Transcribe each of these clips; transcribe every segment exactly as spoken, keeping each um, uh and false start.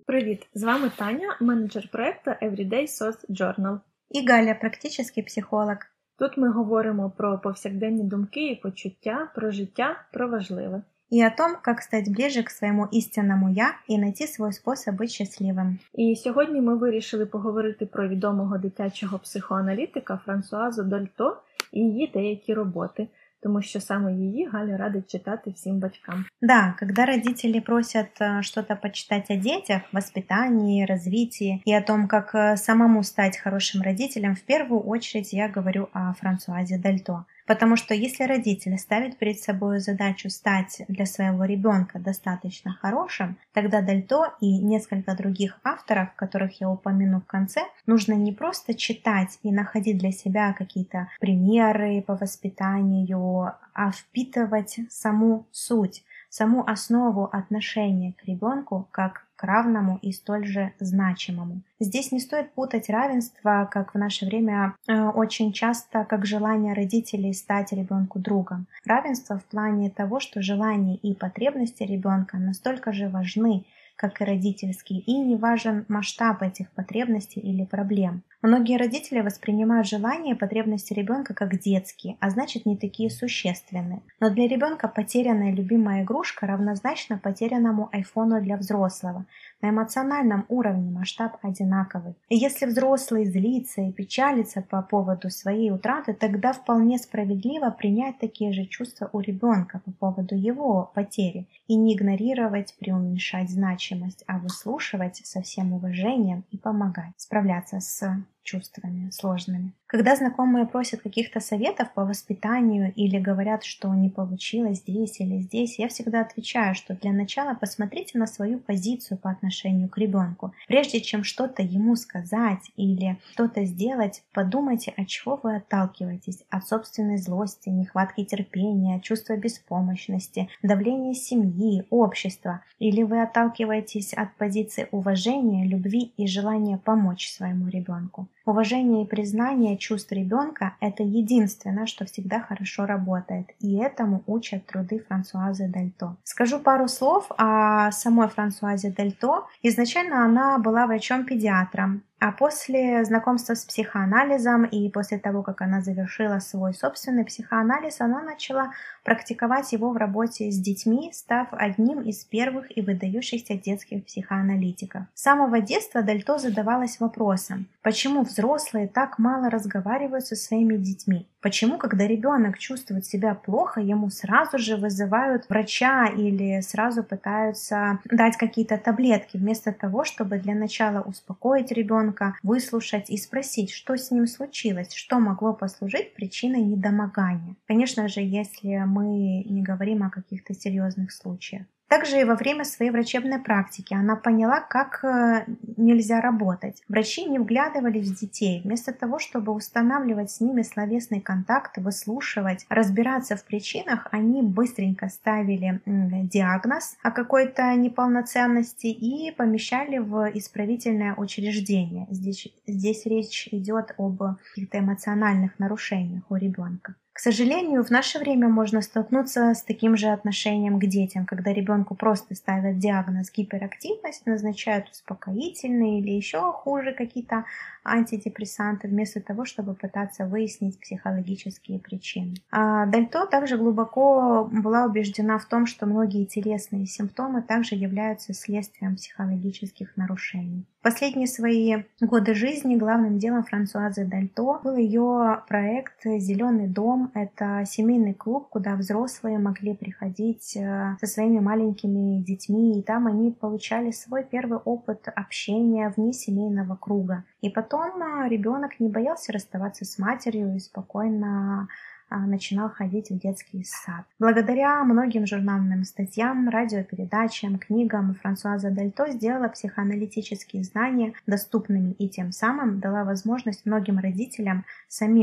Привіт! З вами Таня, менеджер проекту Everyday Sauce Journal. І Галя, практичний психолог. Тут ми говоримо про повсякденні думки і почуття, про життя, про важливе. И о том, как стать ближе к своему истинному «я» и найти свой способ быть счастливым. І сьогодні ми вирішили поговорити про відомого дитячого психоаналітика Франсуазу Дальто і її деякі роботи, тому що саме її Галя радить читати всім батькам. Да, когда родители просят что-то почитать о детях, воспитании, развитии и о том, как самому стать хорошим родителем, в первую очередь я говорю о Франсуазе Дальто. Потому что если родитель ставит перед собой задачу стать для своего ребенка достаточно хорошим, тогда Дальто и несколько других авторов, которых я упомяну в конце, нужно не просто читать и находить для себя какие-то примеры по воспитанию, а впитывать саму суть, саму основу отношения к ребенку как к равному и столь же значимому. Здесь не стоит путать равенство, как в наше время э, очень часто, как желание родителей стать ребенку другом. Равенство в плане того, что желания и потребности ребенка настолько же важны, как и родительские, и не важен масштаб этих потребностей или проблем. Многие родители воспринимают желания и потребности ребенка как детские, а значит не такие существенные. Но для ребенка потерянная любимая игрушка равнозначна потерянному айфону для взрослого. На эмоциональном уровне масштаб одинаковый. И если взрослый злится и печалится по поводу своей утраты, тогда вполне справедливо принять такие же чувства у ребенка по поводу его потери и не игнорировать, преуменьшать значимость, а выслушивать со всем уважением и помогать справляться с чувствами сложными. Когда знакомые просят каких-то советов по воспитанию или говорят, что не получилось здесь или здесь, я всегда отвечаю, что для начала посмотрите на свою позицию по отношению к ребенку. Прежде чем что-то ему сказать или что-то сделать, подумайте, от чего вы отталкиваетесь. От собственной злости, нехватки терпения, чувства беспомощности, давления семьи, общества. Или вы отталкиваетесь от позиции уважения, любви и желания помочь своему ребенку. Уважение и признание чувств ребенка – это единственное, что всегда хорошо работает, и этому учат труды Франсуазы Дальто. Скажу пару слов о самой Франсуазе Дальто. Изначально она была врачом-педиатром, а после знакомства с психоанализом и после того, как она завершила свой собственный психоанализ, она начала практиковать его в работе с детьми, став одним из первых и выдающихся детских психоаналитиков. С самого детства Дальто задавалась вопросом, почему взрослые так мало разговаривают со своими детьми? Почему, когда ребенок чувствует себя плохо, ему сразу же вызывают врача или сразу пытаются дать какие-то таблетки, вместо того, чтобы для начала успокоить ребенка, выслушать и спросить, что с ним случилось, что могло послужить причиной недомогания. Конечно же, если мы не говорим о каких-то серьезных случаях. Также и во время своей врачебной практики она поняла, как нельзя работать. Врачи не вглядывались в детей. Вместо того, чтобы устанавливать с ними словесный контакт, выслушивать, разбираться в причинах, они быстренько ставили диагноз о какой-то неполноценности и помещали в исправительное учреждение. Здесь, здесь речь идет об каких-то эмоциональных нарушениях у ребенка. К сожалению, в наше время можно столкнуться с таким же отношением к детям, когда ребенку просто ставят диагноз гиперактивность, назначают успокоительные или еще хуже какие-то антидепрессанты, вместо того, чтобы пытаться выяснить психологические причины. А Дальто также глубоко была убеждена в том, что многие телесные симптомы также являются следствием психологических нарушений. В последние свои годы жизни главным делом Франсуазы Дальто был ее проект «Зеленый дом». Это семейный клуб, куда взрослые могли приходить со своими маленькими детьми, и там они получали свой первый опыт общения вне семейного круга. И потом ребенок не боялся расставаться с матерью и спокойно начинал ходить в детский сад. Благодаря многим журнальным статьям, радиопередачам, книгам Франсуаза Дальто сделала психоаналитические знания доступными и тем самым дала возможность многим родителям самим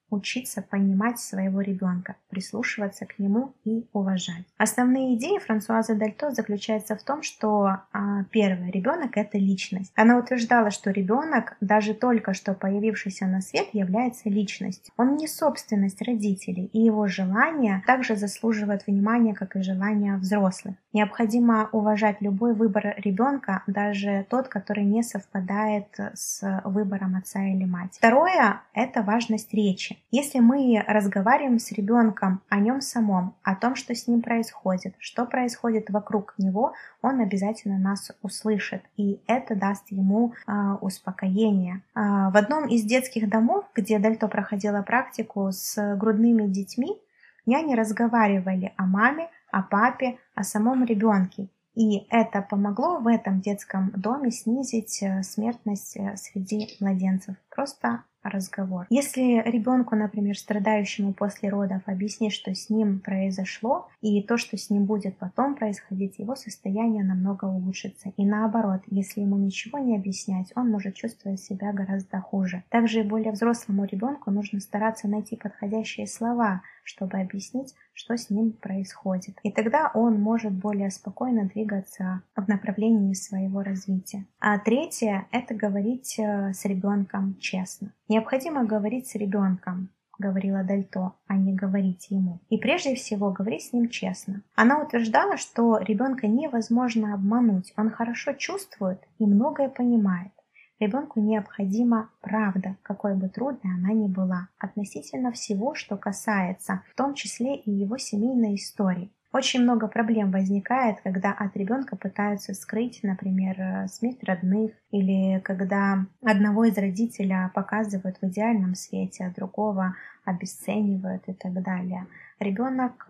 учиться понимать своего ребенка, прислушиваться к нему и уважать. Основные идеи Франсуазы Дальто заключаются в том, что а, первое, ребенок — это личность. Она утверждала, что ребенок, даже только что появившийся на свет, является личностью. Он не собственность родителей, и его желания также заслуживают внимания, как и желания взрослых. Необходимо уважать любой выбор ребенка, даже тот, который не совпадает с выбором отца или мать. Второе — это важность речи. Если мы разговариваем с ребенком о нем самом, о том, что с ним происходит, что происходит вокруг него, он обязательно нас услышит, и это даст ему э, успокоение. Э, в одном из детских домов, где Дальто проходила практику с грудными детьми, няни разговаривали о маме, о папе, о самом ребенке. И это помогло в этом детском доме снизить смертность среди младенцев. Просто разговор. Если ребенку, например, страдающему после родов, объяснить, что с ним произошло, и то, что с ним будет потом происходить, его состояние намного улучшится. И наоборот, если ему ничего не объяснять, он может чувствовать себя гораздо хуже. Также и более взрослому ребенку нужно стараться найти подходящие слова, чтобы объяснить, что с ним происходит. И тогда он может более спокойно двигаться в направлении своего развития. А третье — это говорить с ребенком честно. Необходимо говорить с ребенком, говорила Дальто, а не говорить ему. И прежде всего говорить с ним честно. Она утверждала, что ребенка невозможно обмануть, он хорошо чувствует и многое понимает. Ребенку необходима правда, какой бы трудной она ни была, относительно всего, что касается, в том числе и его семейной истории. Очень много проблем возникает, когда от ребенка пытаются скрыть, например, смерть родных, или когда одного из родителей показывают в идеальном свете, а другого обесценивают и так далее. Ребенок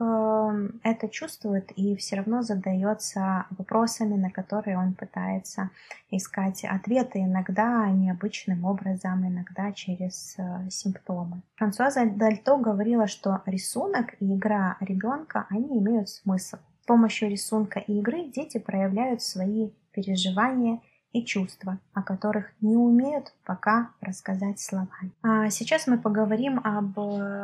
это чувствует и все равно задается вопросами, на которые он пытается искать ответы, иногда необычным образом, иногда через симптомы. Франсуаза Дальто говорила, что рисунок и игра ребенка, они имеют смысл. С помощью рисунка и игры дети проявляют свои переживания и чувства, о которых не умеют пока рассказать словами. А сейчас мы поговорим об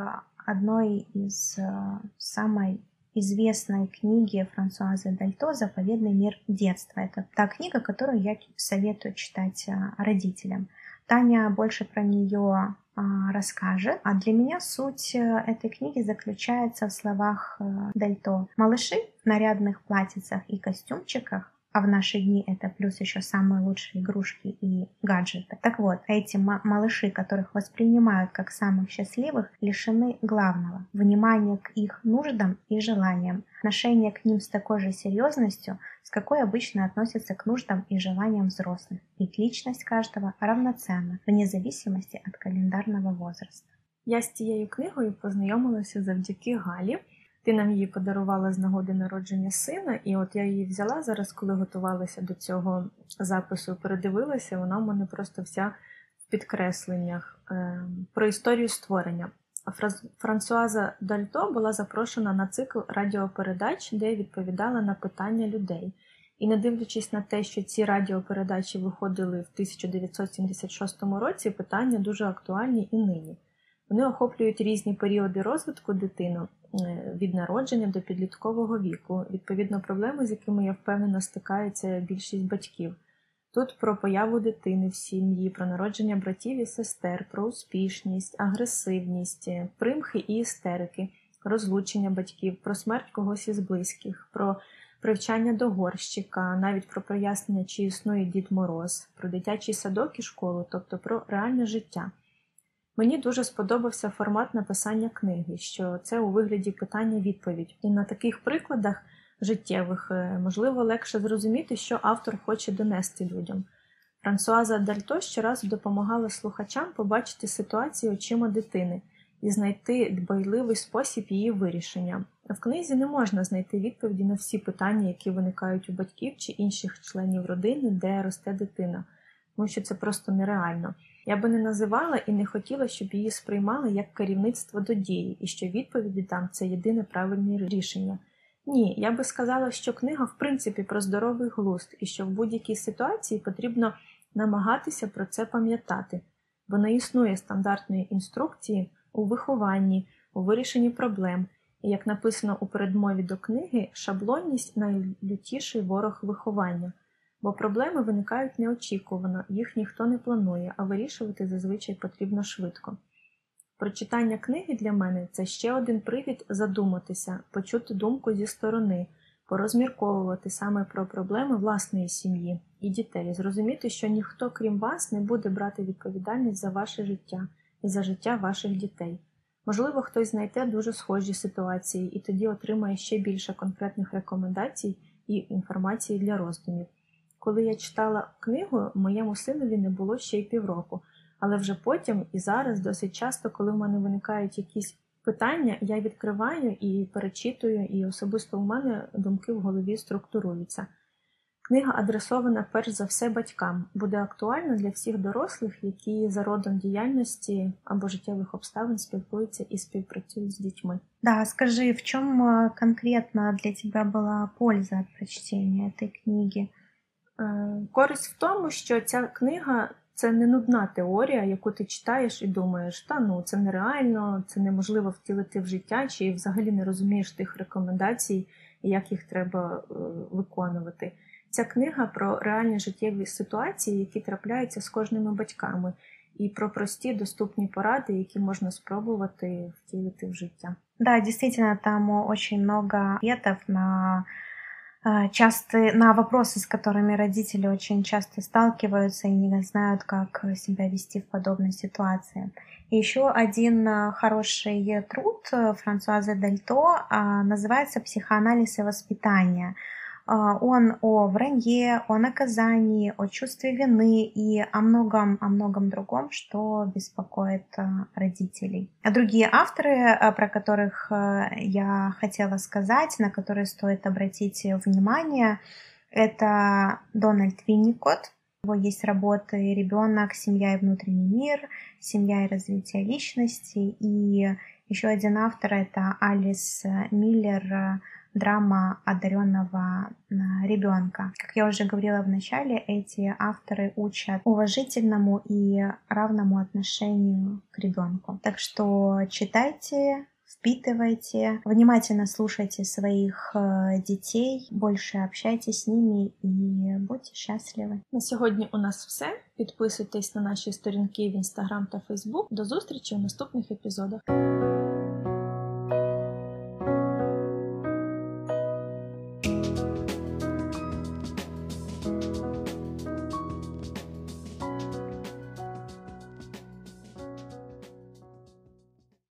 одной из самой известной книги Франсуазы Дальто «Заповедный мир детства». Это та книга, которую я советую читать родителям. Таня больше про нее расскажет. А для меня суть этой книги заключается в словах Дальто. Малыши в нарядных платьицах и костюмчиках, а в наши дни это плюс еще самые лучшие игрушки и гаджеты. Так вот, эти малыши, которых воспринимают как самых счастливых, лишены главного – внимания к их нуждам и желаниям, отношение к ним с такой же серьезностью, с какой обычно относятся к нуждам и желаниям взрослых. Ведь личность каждого равноценна, вне зависимости от календарного возраста. Я з цією книгою познайомилася завдяки Галі. Ти нам її подарувала з нагоди народження сина, і от я її взяла зараз, коли готувалася до цього запису, передивилася, вона в мене просто вся в підкресленнях. Про історію створення. Франсуаза Дальто була запрошена на цикл радіопередач, де відповідала на питання людей. І не дивлячись на те, що ці радіопередачі виходили в тисяча дев'ятсот сімдесят шостому році, питання дуже актуальні і нині. Вони охоплюють різні періоди розвитку дитини, від народження до підліткового віку, відповідно проблеми, з якими, я впевнена, стикається більшість батьків. Тут про появу дитини в сім'ї, про народження братів і сестер, про успішність, агресивність, примхи і істерики, розлучення батьків, про смерть когось із близьких, про привчання до горщика, навіть про прояснення, чи існує Дід Мороз, про дитячий садок і школу, тобто про реальне життя. Мені дуже сподобався формат написання книги, що це у вигляді питання-відповідь. І на таких прикладах життєвих можливо легше зрозуміти, що автор хоче донести людям. Франсуаза Дальто щоразу допомагала слухачам побачити ситуацію очима дитини і знайти дбайливий спосіб її вирішення. В книзі не можна знайти відповіді на всі питання, які виникають у батьків чи інших членів родини, де росте дитина, тому що це просто нереально. Я би не називала і не хотіла, щоб її сприймали як керівництво до дії, і що відповіді там – це єдине правильне рішення. Ні, я би сказала, що книга в принципі про здоровий глузд, і що в будь-якій ситуації потрібно намагатися про це пам'ятати, бо не існує стандартної інструкції, у вихованні, у вирішенні проблем. І, як написано у передмові до книги, шаблонність – найлютіший ворог виховання. Бо проблеми виникають неочікувано, їх ніхто не планує, а вирішувати зазвичай потрібно швидко. Прочитання книги для мене – це ще один привід задуматися, почути думку зі сторони, порозмірковувати саме про проблеми власної сім'ї і дітей, зрозуміти, що ніхто, крім вас, не буде брати відповідальність за ваше життя і за життя ваших дітей. Можливо, хтось знайде дуже схожі ситуації і тоді отримає ще більше конкретних рекомендацій і інформації для роздумів. Коли я читала книгу, моєму синові не було ще й півроку, але вже потім і зараз досить часто, коли в мене виникають якісь питання, я відкриваю і перечитую, і особисто у мене думки в голові структуруються. Книга адресована перш за все батькам, буде актуальна для всіх дорослих, які за родом діяльності або життєвих обставин спілкуються і співпрацюють з дітьми. Да, скажи, в чем э, конкретно для тебя была польза от прочтения этой книги? Е, Користь в тому, що ця книга – це не нудна теорія, яку ти читаєш і думаєш, та ну, це нереально, це неможливо втілити в життя, чи взагалі не розумієш тих рекомендацій, і як їх треба е, виконувати. Ця книга про реальні життєві ситуації, які трапляються з кожними батьками, і про прості доступні поради, які можна спробувати втілити в життя. Да, действительно, там очень много ответов на э, частые, на вопросы, с которыми родители очень часто сталкиваются и не знают, как себя вести в подобной ситуации. И еще один э, хороший труд э, Франсуазы Дальто э, называется «Психоанализ и воспитание». А, Он о вранье, о наказании, о чувстве вины и о многом, о многом другом, что беспокоит а, родителей. А другие авторы, а, про которых а, я хотела сказать, на которые стоит обратить внимание, это Дональд Винникот. У него есть работы «Ребенок, семья и внутренний мир», «Семья и развитие личности». И еще один автор – это Алис Миллер, драма одаренного ребенка. Как я уже говорила в начале, эти авторы учат уважительному и равному отношению к ребенку. Так что читайте, впитывайте, внимательно слушайте своих э, детей, больше общайтесь с ними и будьте счастливы. На сьогодні у нас все. Підписуйтесь на наші сторінки в Instagram та Facebook. До зустрічі у наступних епізодах.